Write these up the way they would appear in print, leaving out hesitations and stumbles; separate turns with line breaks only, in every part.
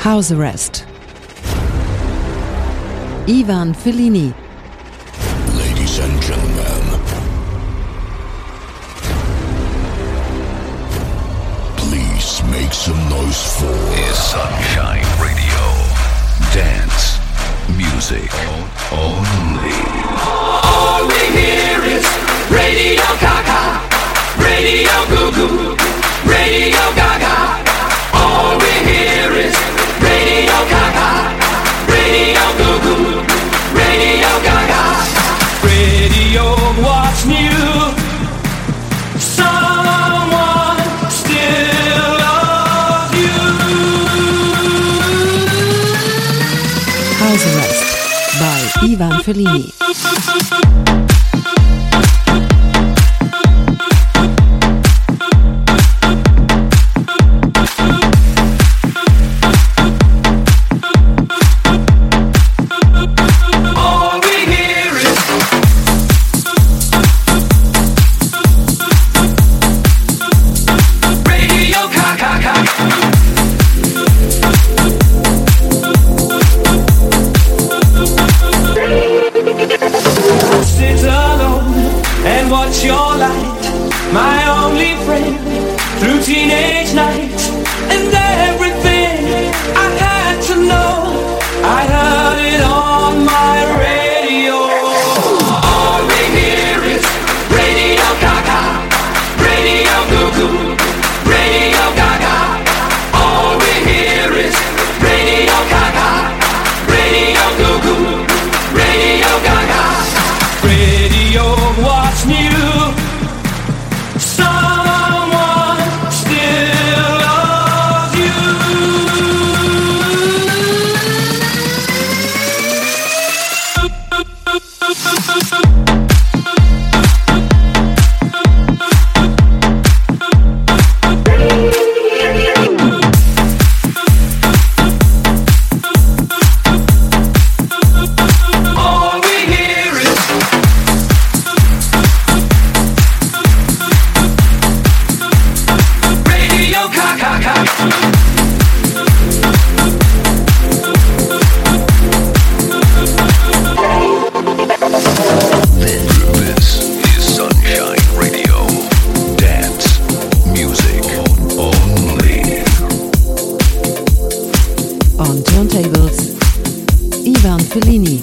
House Arrest. Ivan Fellini.
Ladies and gentlemen, please make some noise for
Sunshine Radio. Dance music only.
All we hear is Radio Gaga, Radio Goo Goo, Radio Gaga. All we hear is Radio Gaga, Radio Goo Goo, Radio Gaga. Radio, what's new? Someone still loves you.
House Arrest by Ivan Fellini.
Watch your light, my only friend, through teenage nights, and everything I had to know, I heard it on my radio. All we hear is Radio Gaga, Radio Goo Goo, Radio Gaga. All we hear is Radio Gaga, Radio Goo Goo, Radio Gaga. Radio, what's new? Someone still loves you. All we hear is Radio Gaga.
This is Sunshine Radio. Dance music only.
On turntables, Ivan Fellini.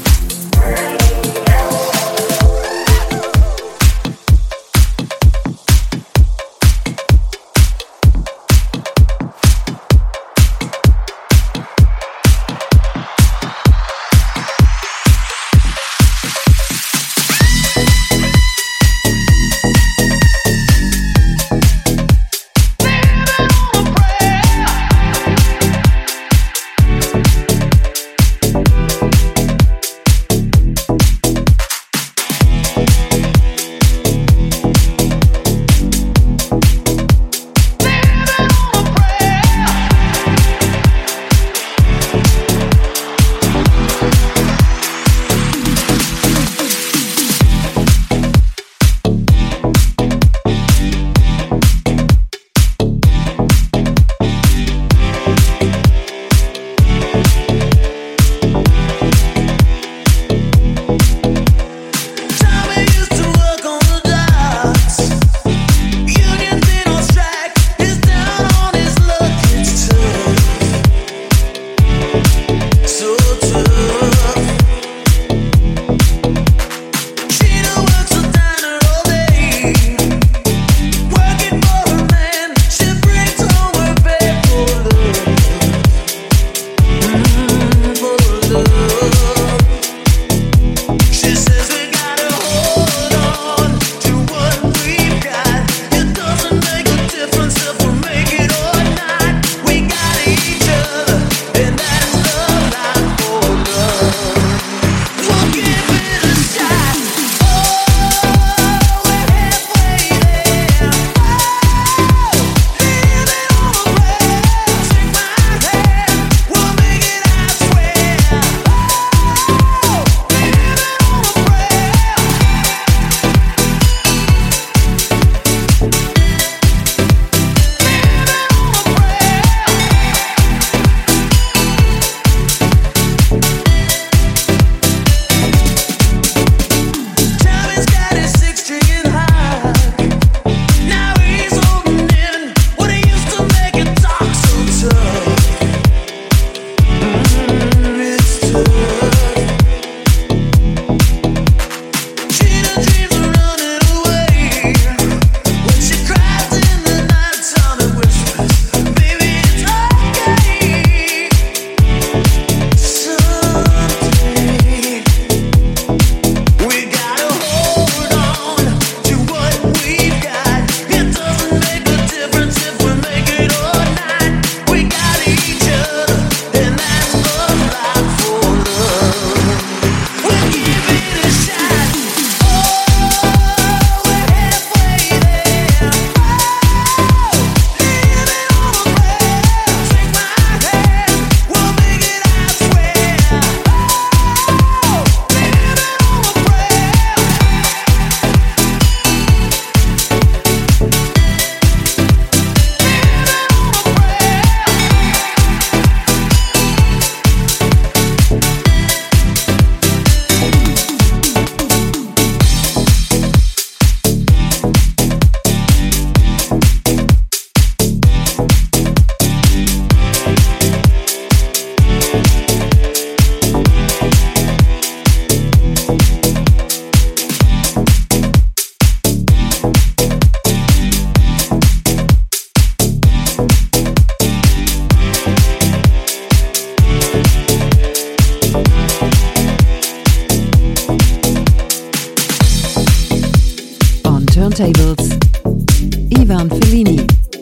turntables, Ivan Fellini.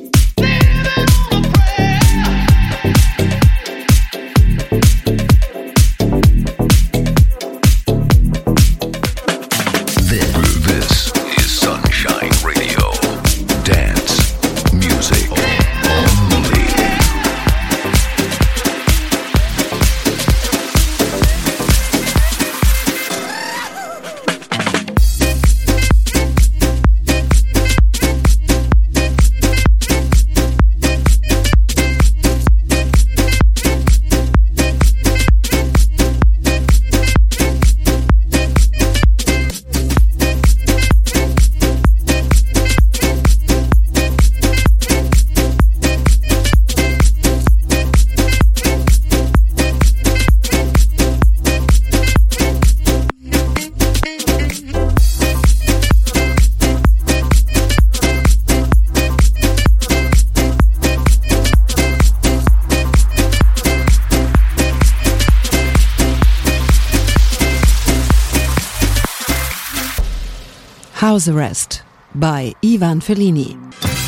This is Sunshine Radio. Dance music only.
House Arrest by Ivan Fellini.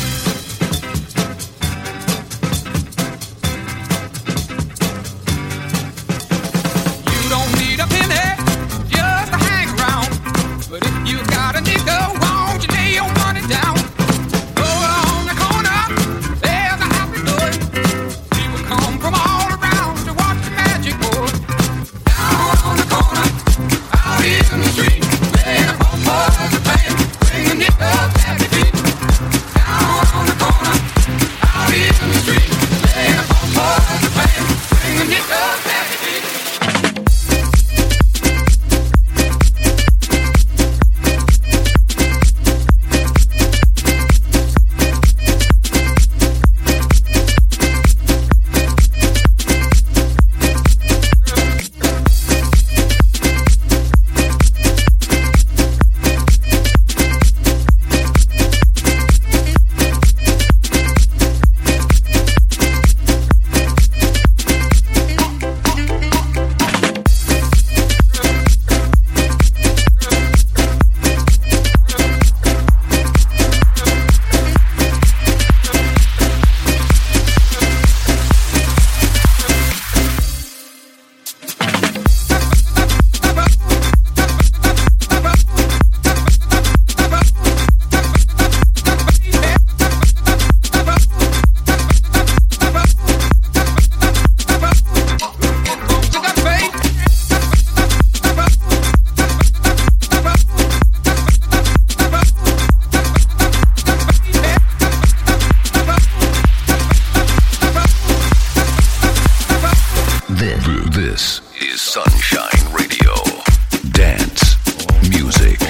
This is Sunshine Radio. Dance music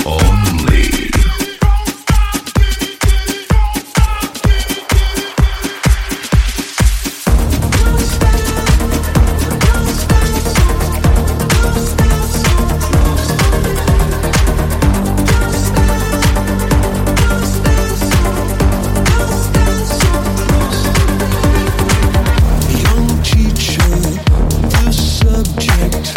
only.
Young teacher, the subject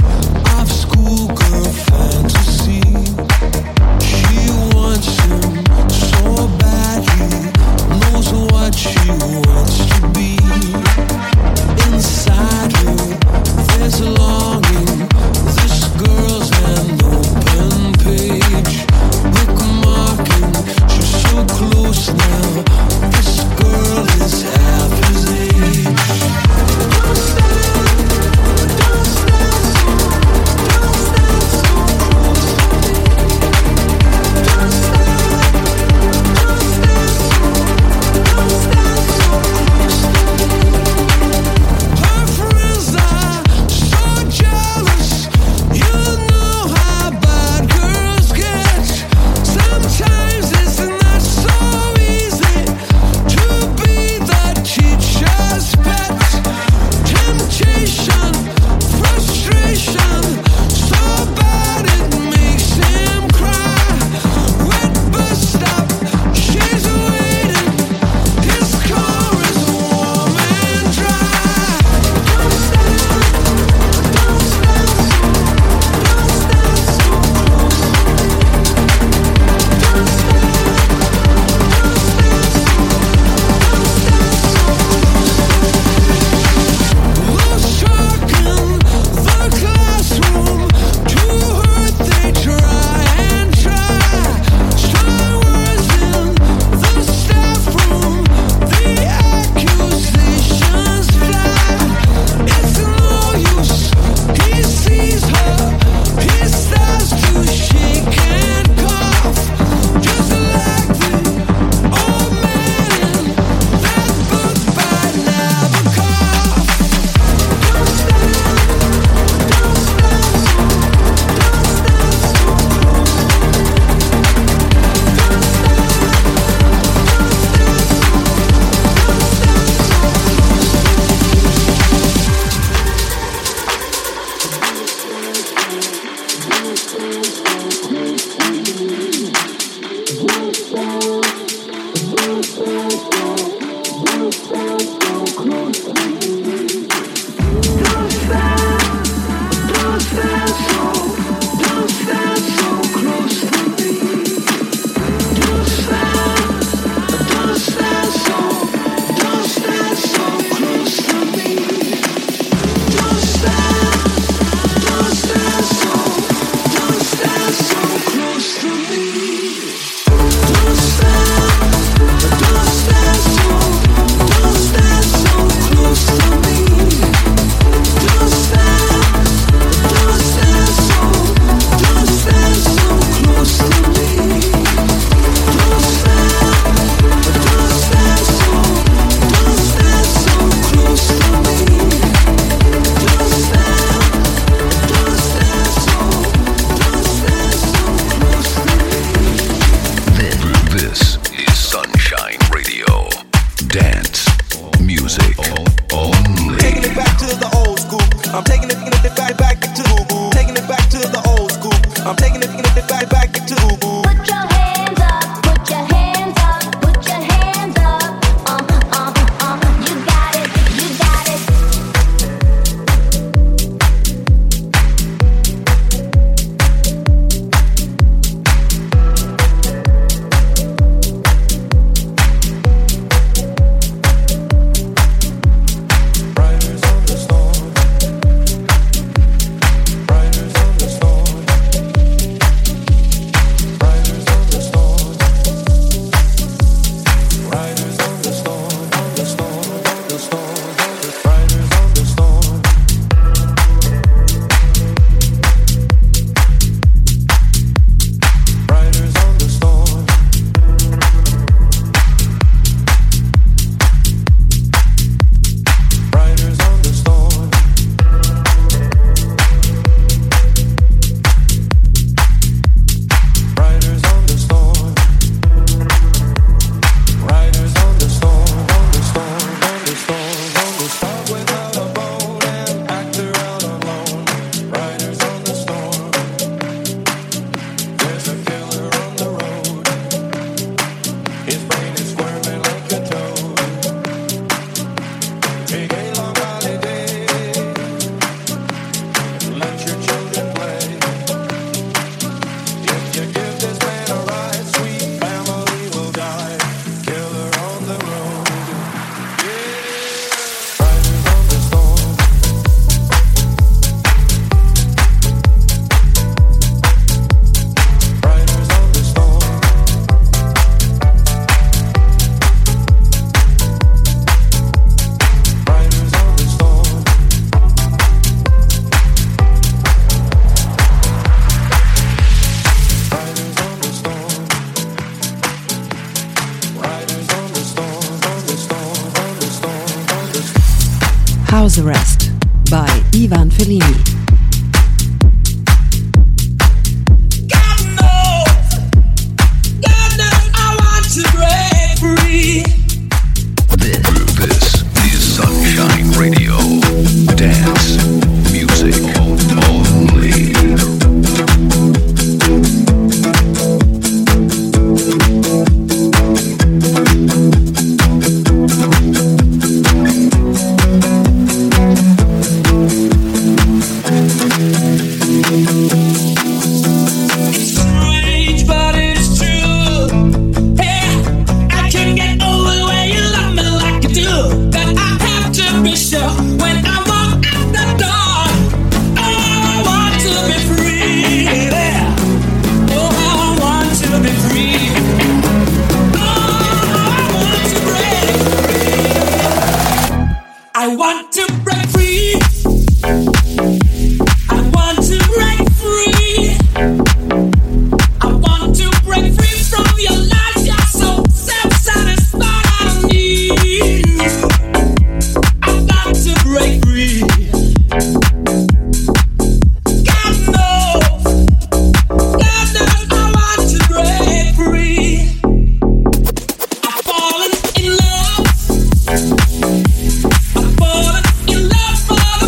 I'm taking it back to taking it back to the old school. I'm taking it back to.
Put your hands up, put your hands up, put your hands up. You got it, you got it.
House Arrest by Ivan Fellini.
This is Sunshine Radio. Dance music only.
Fallen in love for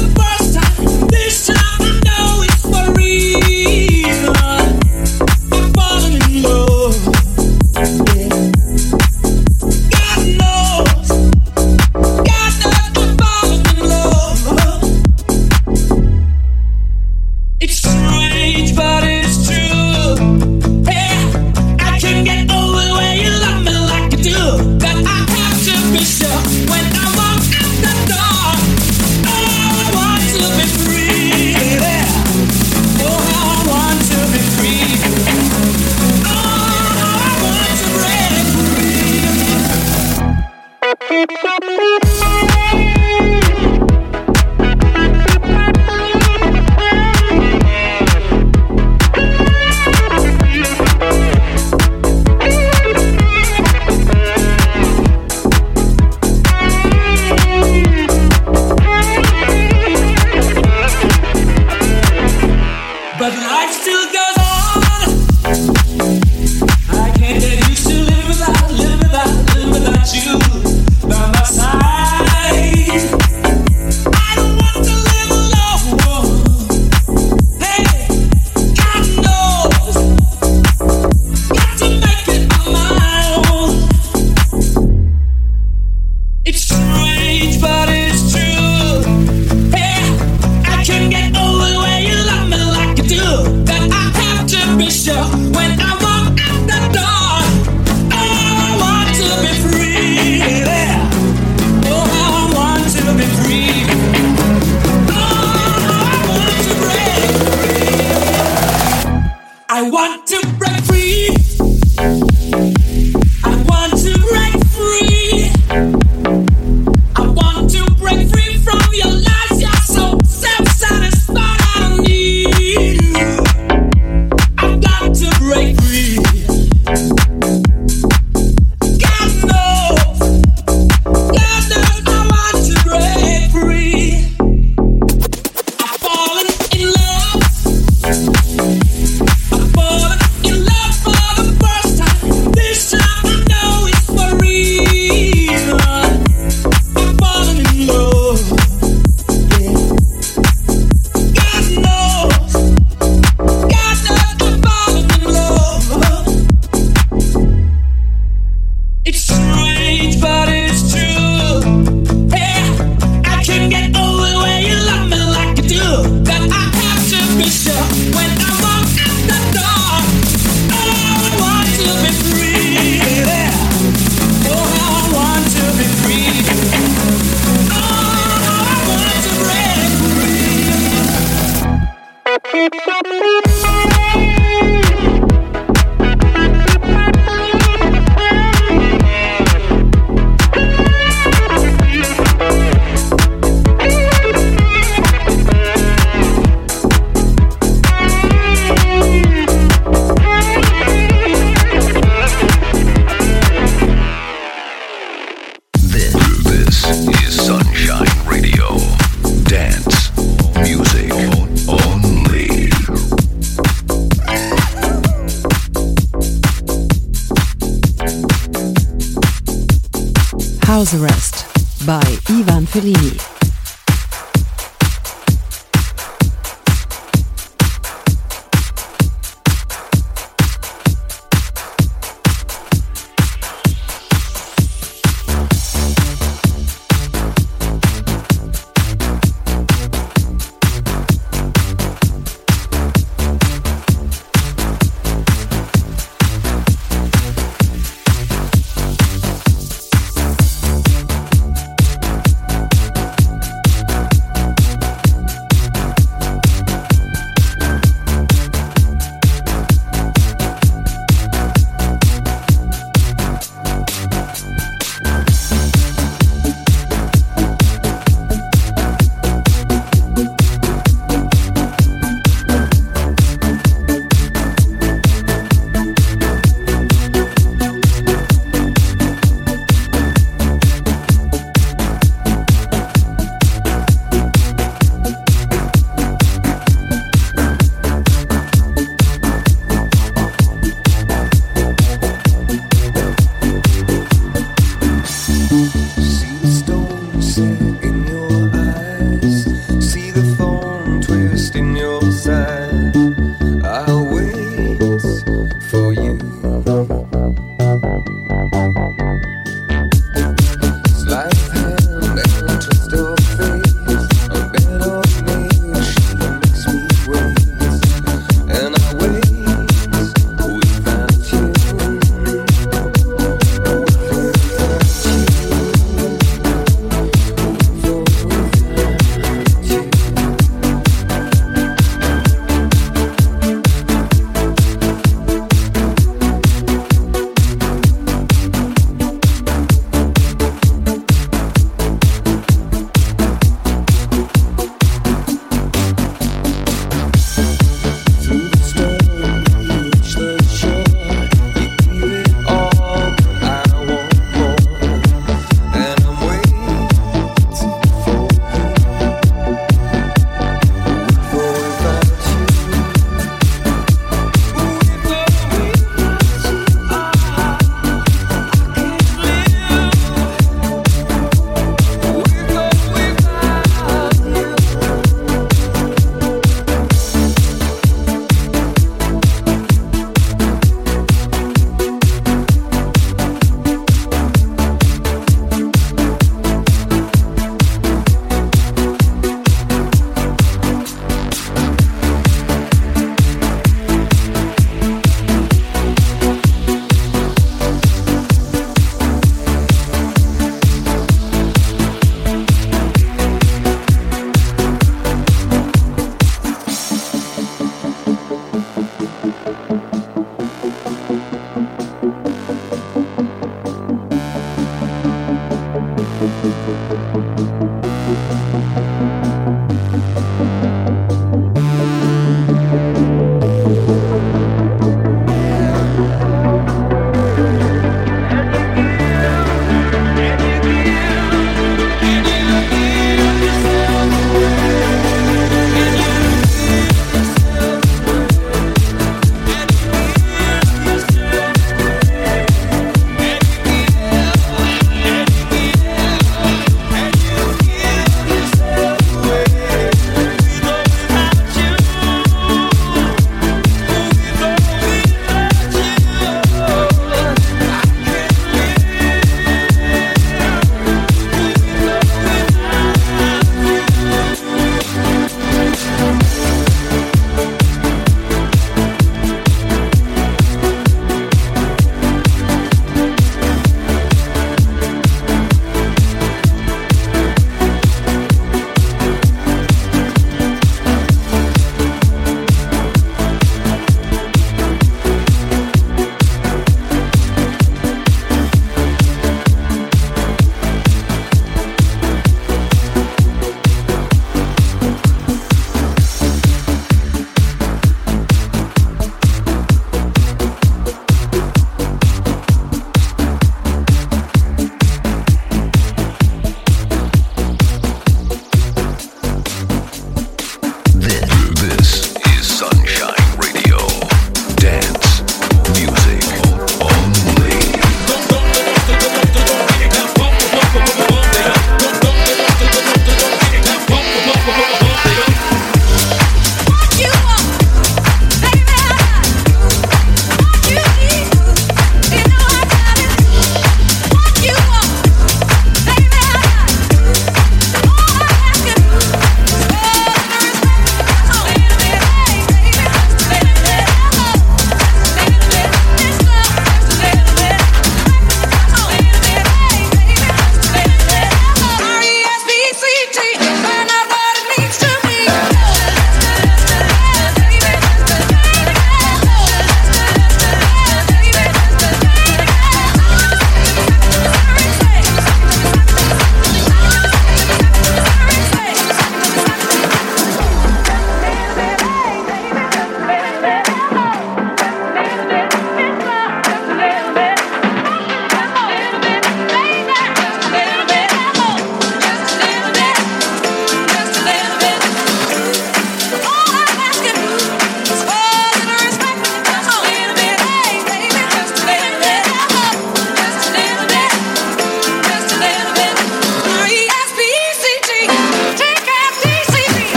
House Arrest by Ivan Fellini.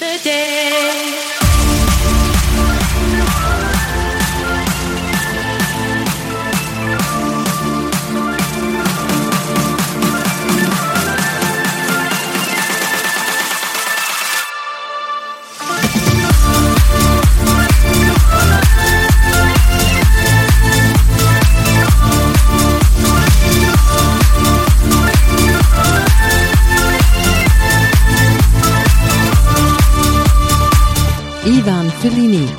the day.
Ivan Fellini.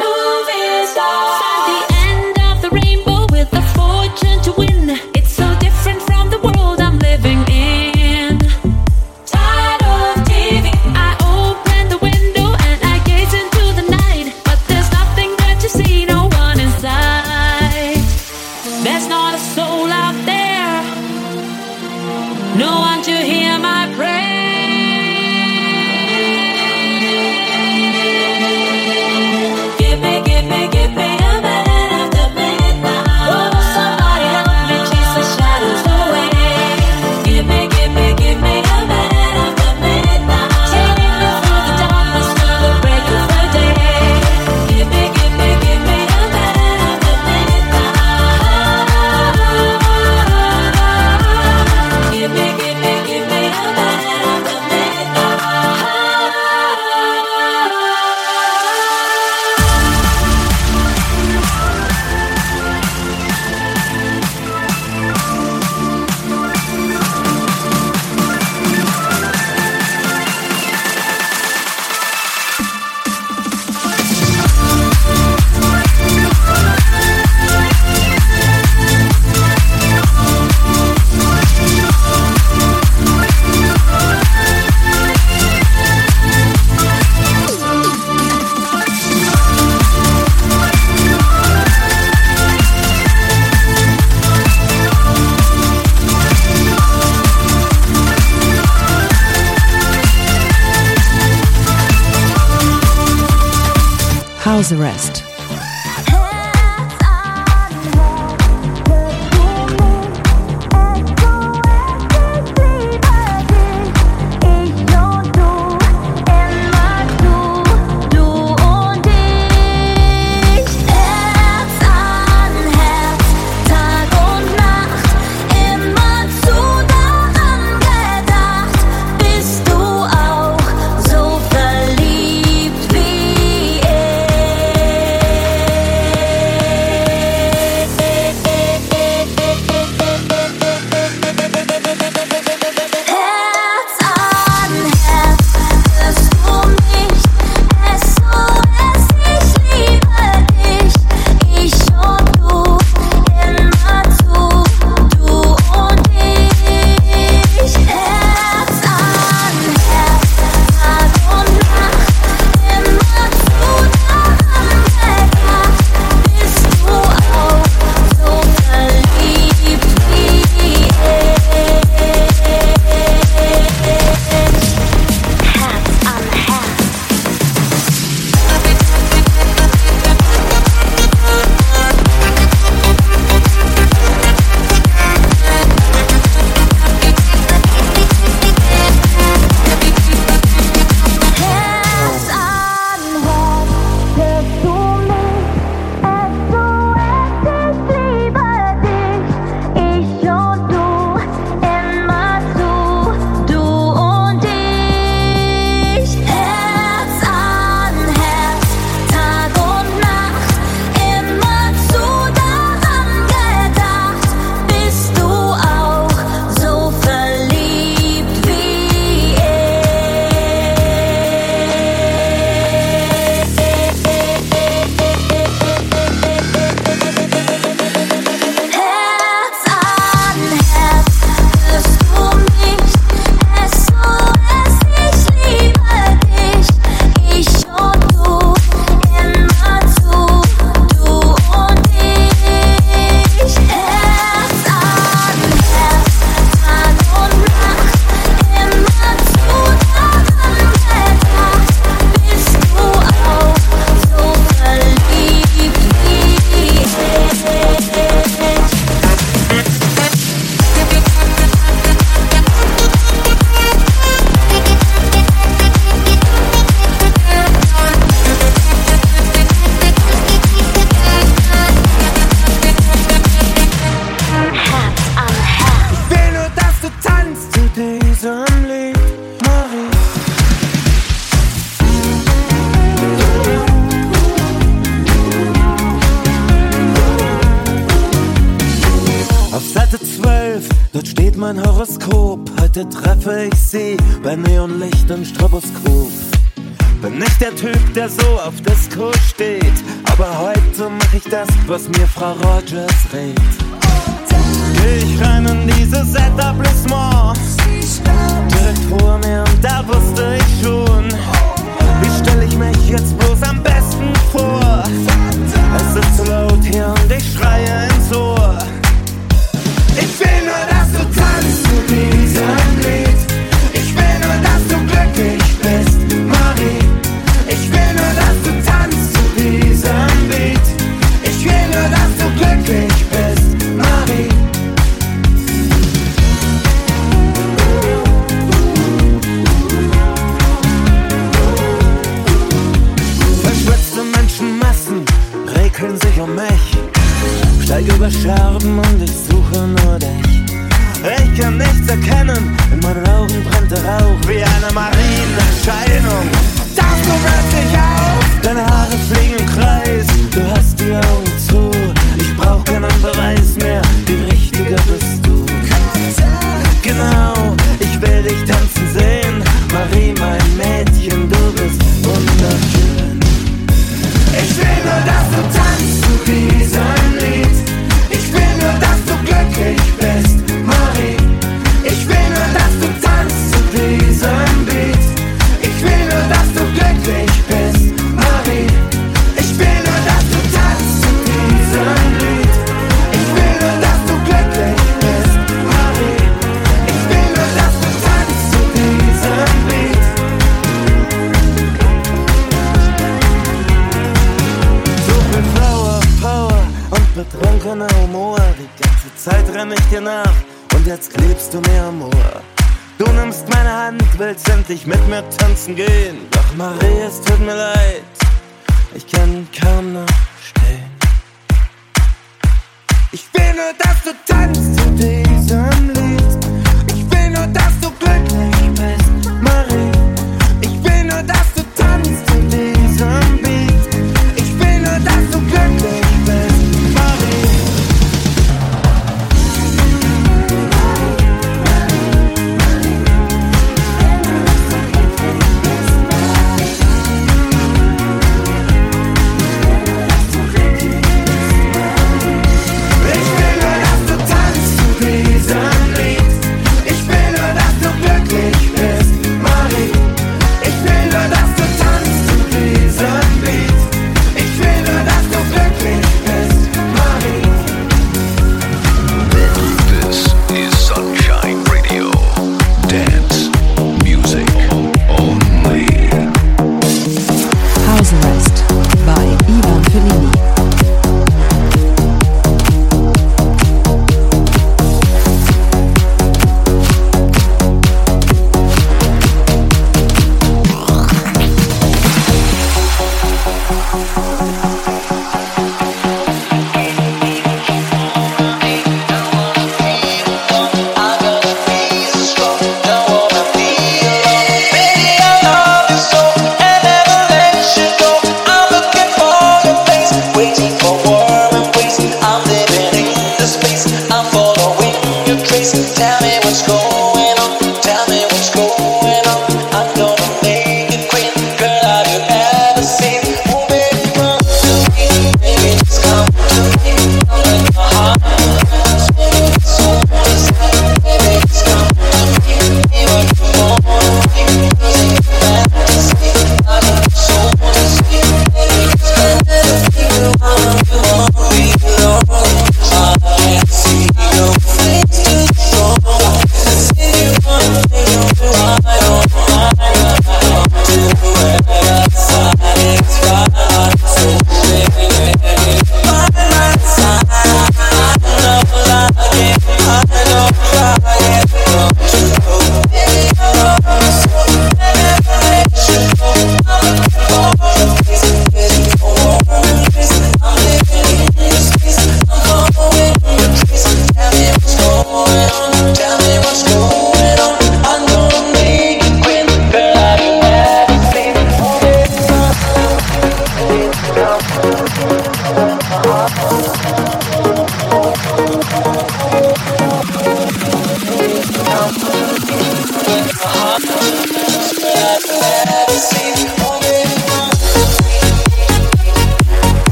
House Arrest.
Verliebt wie ich.
mein Horoskop, heute treffe ich sie bei Neonlicht im Stroboskop. Bin nicht der Typ, der so auf Disco steht, aber heute mach ich das, was mir Frau Rogers rät. Geh ich rein in dieses Etablissement, direkt vor mir und da wusste ich schon, wie stell ich mich jetzt bloß am besten vor. Es ist zu laut hier und ich schreie ins Ohr. Ich will nur, dass du tanzt zu diesem Lied. Ich will nur, dass du glücklich bist, Marie. Ich will nur, dass du tanzt zu diesem Lied. Ich will nur, dass du glücklich bist, Marie. Verschwitzte Menschenmassen regeln sich um mich. Steig über Scherben und ich suche nur dich. Ich kann nichts erkennen, in meinen Augen brennt der Rauch wie eine Marienerscheinung. Tauchst du plötzlich auf, deine Haare fliegen im Kreis, du hast die Augen zu. Ich brauch keinen Beweis mehr, die Richtige bist du. Genau, ich will dich tanzen sehen, Marie, mein Mädchen, du bist wunderschön. Ich will nur, dass du tanzt zu diesem Lied. Ich will nur, dass du glücklich bist, Marie. Ich will nur, dass du tanzt zu diesem Beat. Ich will nur, dass du glücklich bist, Marie. Ich will nur, dass du tanzt zu diesem Lied. Ich will nur, dass du glücklich bist, Marie. Ich will nur, dass du tanzt zu diesem Beat. So viel Flower, Power und betrunkener Humor. Die ganze Zeit renn ich dir nach und jetzt klebst du mir am Ohr. Du nimmst meine Hand, willst endlich mit mir tanzen gehen. Doch Marie, es tut mir leid, ich kann kaum noch stehen. Ich will nur, dass du tanzt zu diesem Lied. Ich will nur, dass du glücklich bist, Marie. Ich will nur, dass du tanzt zu diesem Beat. Ich will nur, dass du glücklich bist, Marie. Ich will nur, dass du tanzt zu diesem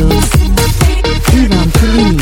Turntables. Ivan Fellini.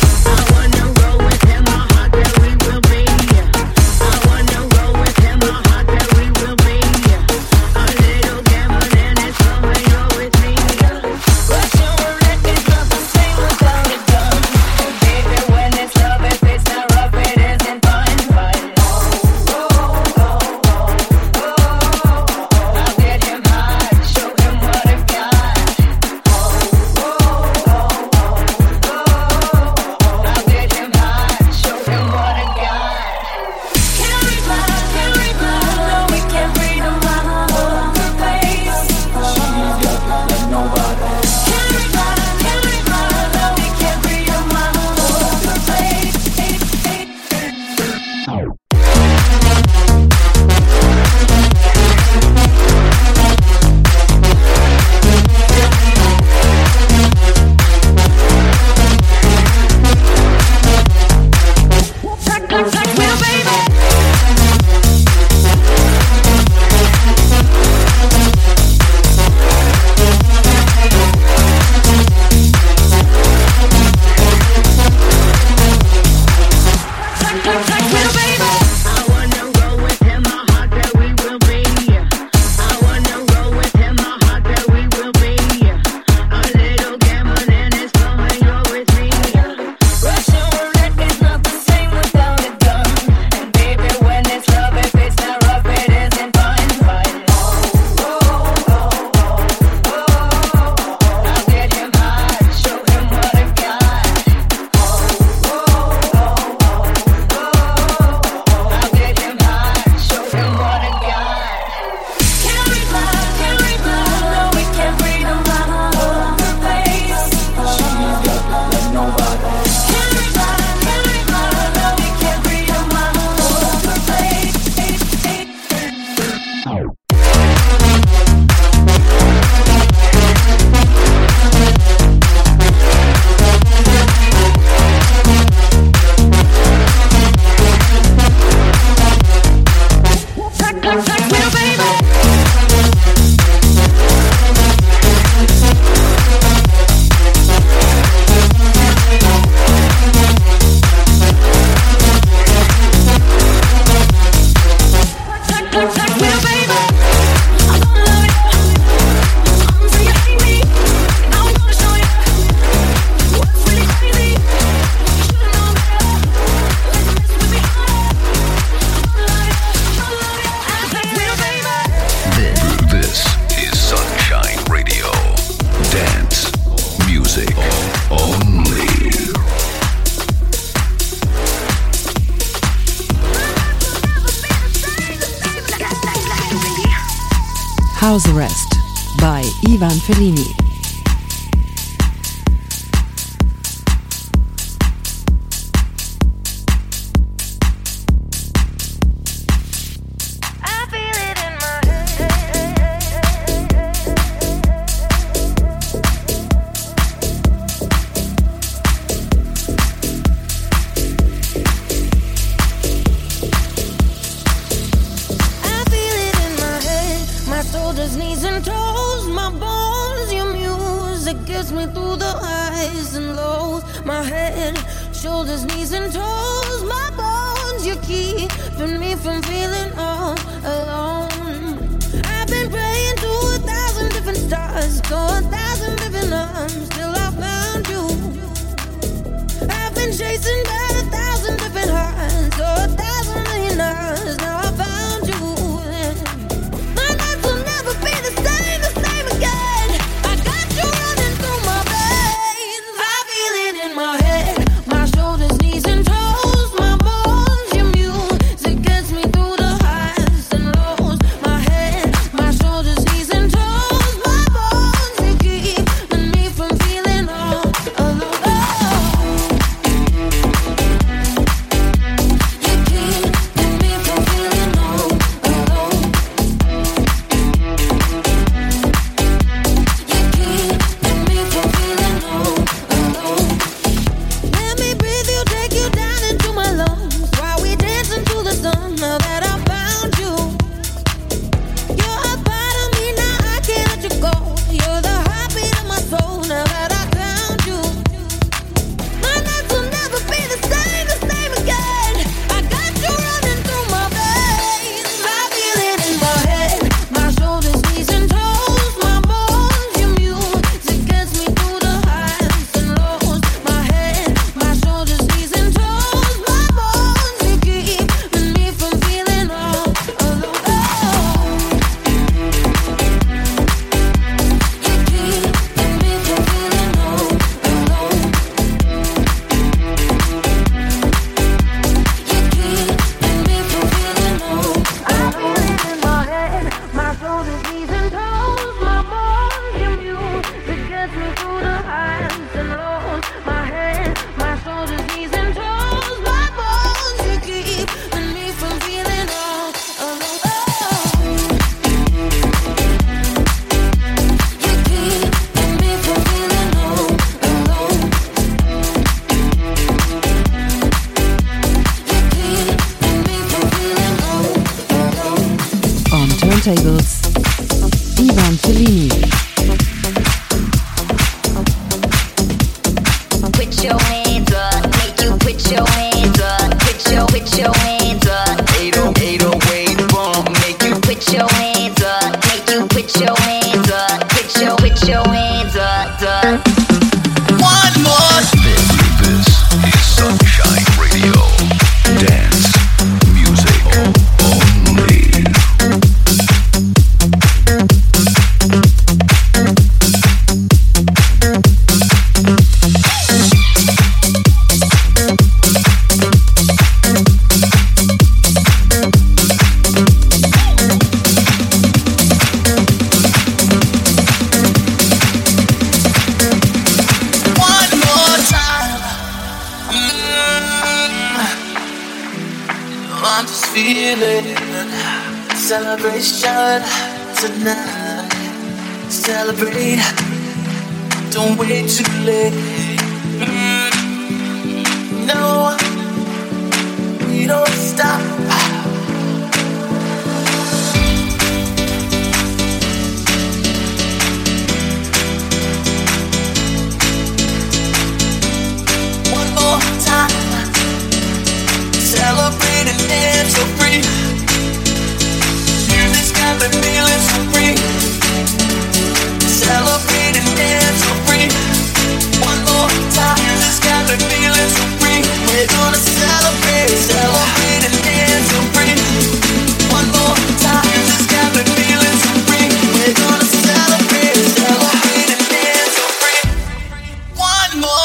House Arrest by Ivan Fellini.
Shoulders, knees and toes, my bones, you're keeping me from feeling all alone. I've been praying to 1,000 different stars, to 1,000 different arms, till I found you. I've been chasing by 1,000 different hearts, to 1,000 million hours, now I found you. My life will never be the same again. I got you running through my veins, I feel it in my head. Shoulders, knees and toes, my bones, your music gets me through the highs and lows. My head, my shoulders, knees and toes, my bones, you keeping me from feeling all alone.
turntables, Ivan Fellini.
Put your hands up, make you put your hands up, put your hands up. 808 bump, make you put your hands up, make you put your hands up, put your hands up. One more.
This is Sunshine Radio. Dance music only.
Celebration tonight. Celebrate. Don't wait too late. No, we don't stop. One more time. Celebrate and dance so free. Got me feeling so free. Celebrate and dance so free. One more time. Just got me feeling so free. We're gonna celebrate, celebrate and dance so free. One more time. Just got me feeling so free. We're gonna celebrate, celebrate and dance so free. One more.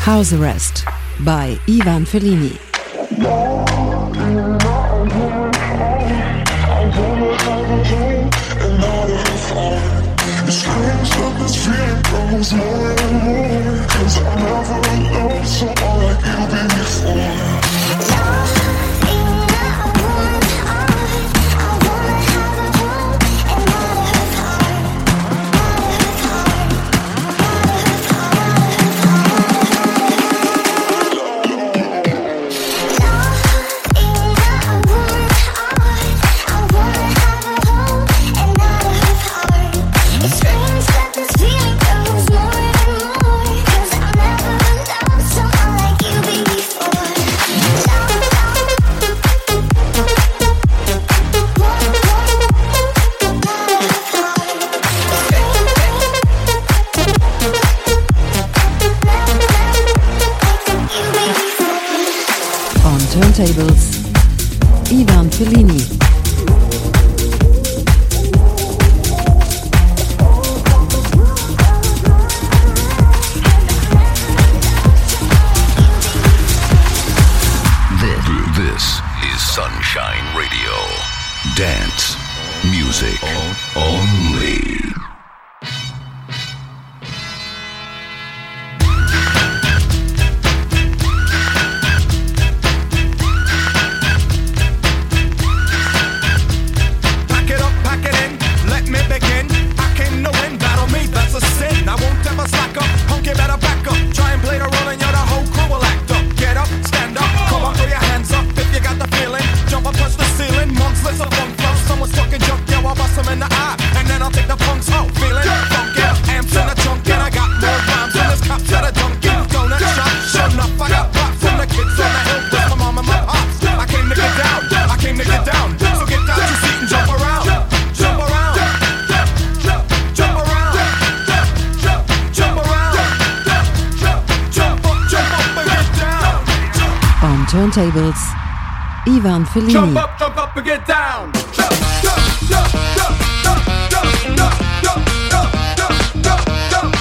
House Arrest by Ivan Fellini.
It screams that this feeling goes more and more, 'cause I never loved someone like you before.
Turntables, Ivan Fellini.
This is Sunshine Radio. Dance music only.
Turntables, Ivan Fellini.
Jump up and get down. Jump, jump, jump, jump, jump, jump, jump, jump, jump, jump, jump,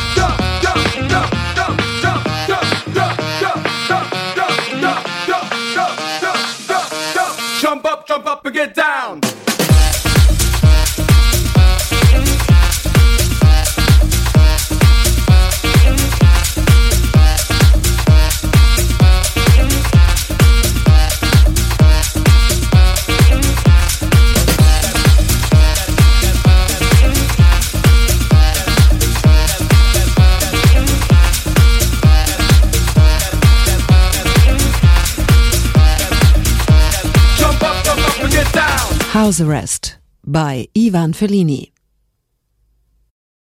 jump up and get down.
House Arrest by Ivan Fellini.